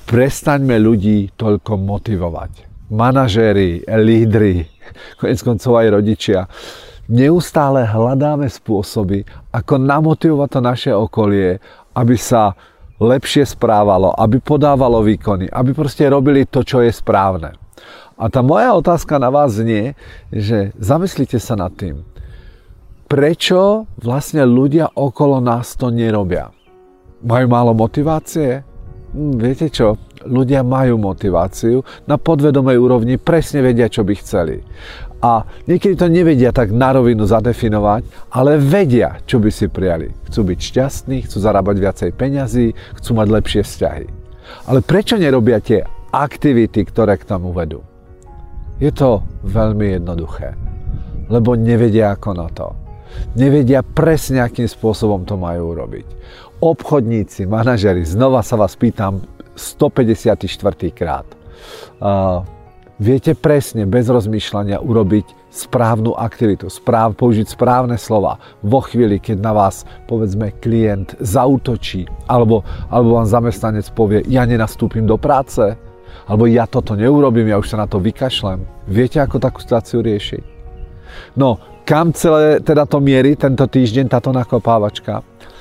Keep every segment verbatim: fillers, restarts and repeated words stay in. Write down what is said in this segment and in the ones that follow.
Prestaňme ľudí toľko motivovať. Manažéri, lídri, konec koncov aj rodičia. Neustále hľadáme spôsoby, ako namotivovať to naše okolie, aby sa lepšie správalo, aby podávalo výkony, aby proste robili to, čo je správne. A tá moja otázka na vás znie, že zamyslite sa nad tým, prečo vlastne ľudia okolo nás to nerobia? Majú málo motivácie? Hm, viete čo? Ľudia majú motiváciu, na podvedomej úrovni presne vedia, čo by chceli. A niekedy to nevedia tak na rovinu zadefinovať, ale vedia, čo by si prijali. Chcú byť šťastní, chcú zarábať viacej peňazí, chcú mať lepšie vzťahy. Ale prečo nerobia tie aktivity, ktoré k tomu vedú? Je to veľmi jednoduché, lebo nevedia ako na to. Nevedia presne, akým spôsobom to majú urobiť. Obchodníci, manažeri, znova sa vás pýtam stopäťdesiatštyri krát. Uh, viete presne, bez rozmýšľania urobiť správnu aktivitu, správ, použiť správne slova vo chvíli, keď na vás, povedzme, klient zaútočí, alebo, alebo vám zamestnanec povie, ja nenastúpim do práce, alebo ja toto neurobím, ja už sa na to vykašlem. Viete, ako takú situáciu riešiť? No, kam celé teda to mierí tento týždeň, táto nakopávačka?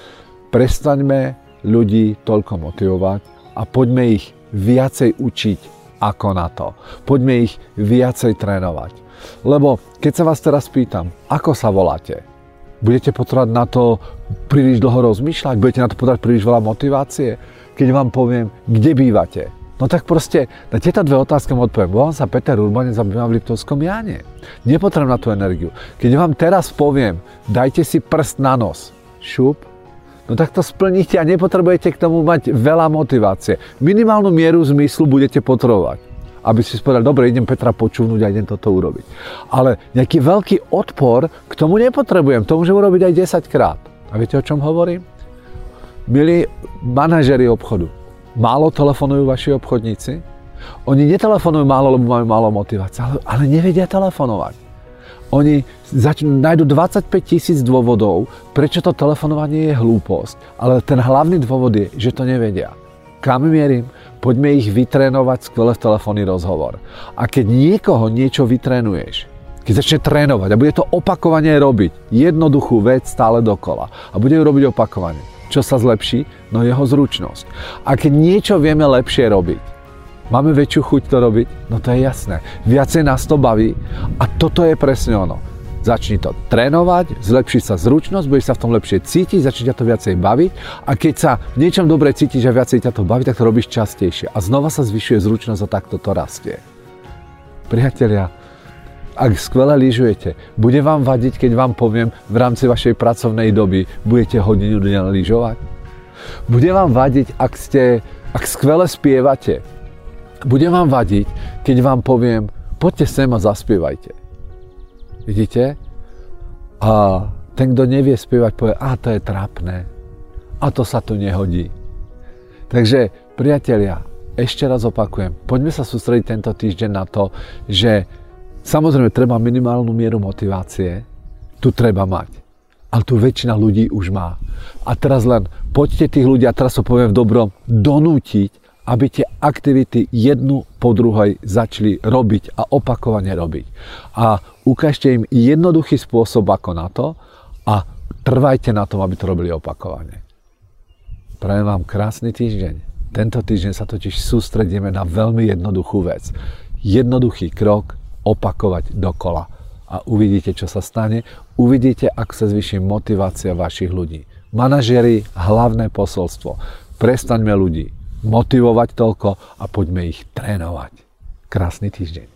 Prestaňme ľudí toľko motivovať a poďme ich viacej učiť ako na to. Poďme ich viacej trénovať. Lebo keď sa vás teraz pýtam, ako sa voláte? Budete potrebovať na to príliš dlho rozmýšľať? Budete na to potrebovať príliš veľa motivácie? Keď vám poviem, kde bývate? No tak proste na tieto dve otázky vám odpoviem. Volám sa Peter Urbanec a bývam v Liptovskom Jáne. Nepotrebujem na tú energiu. Keď vám teraz poviem, dajte si prst na nos, šup, no tak to splníte a nepotrebujete k tomu mať veľa motivácie. Minimálnu mieru zmyslu budete potrebovať, aby si povedali, dobre, idem Petra počúvnuť a idem toto urobiť. Ale nejaký veľký odpor k tomu nepotrebujem, to môžem urobiť aj desaťkrát. A viete, o čom hovorím? Milí manažeri obchodu, málo telefonujú vaši obchodníci? Oni netelefonujú málo, lebo majú málo motivácie, ale, ale nevedia telefonovať. Oni začnú, nájdu dvadsaťpäť tisíc dôvodov, prečo to telefonovanie je hlúposť, ale ten hlavný dôvod je, že to nevedia. Kam mierim? Poďme ich vytrénovať skvelé v telefónny rozhovor. A keď niekoho niečo vytrénuješ, keď začne trénovať a bude to opakovane robiť, jednoduchú vec stále dokola a bude ju robiť opakovane, čo sa zlepší? No jeho zručnosť. A keď niečo vieme lepšie robiť, máme väčšiu chuť to robiť? No to je jasné. Viacej nás to baví a toto je presne ono. Začni to trénovať, zlepší sa zručnosť, budeš sa v tom lepšie cítiť, začne ťa to viacej baviť a keď sa v niečom dobre cítiš a viacej ťa to baví, tak to robíš častejšie a znova sa zvyšuje zručnosť a takto to rastie. Priatelia, ak skvele lyžujete, bude vám vadiť, keď vám poviem v rámci vašej pracovnej doby budete hodinu dňa lyžovať? Bude vám vadiť, ak ste, ak skvele spievate? Bude vám vadiť, keď vám poviem, poďte sem a zaspievajte. Vidíte? A ten, kto nevie spievať, povie, a to je trápne. A to sa tu nehodí. Takže, priatelia, ešte raz opakujem, poďme sa sústrediť tento týždeň na to, že samozrejme treba minimálnu mieru motivácie, tu treba mať. Ale tu väčšina ľudí už má. A teraz len poďte tých ľudí, a teraz to poviem v dobrom, donútiť, aby tie aktivity jednu po druhej začali robiť a opakovane robiť. A ukážte im jednoduchý spôsob ako na to a trvajte na tom, aby to robili opakovane. Prajem vám krásny týždeň. Tento týždeň sa totiž sústredíme na veľmi jednoduchú vec. Jednoduchý krok opakovať dokola. A uvidíte, čo sa stane. Uvidíte, ako sa zvýši motivácia vašich ľudí. Manažeri, hlavné posolstvo. Prestaňme ľudí motivovať toľko a poďme ich trénovať. Krásny týždeň.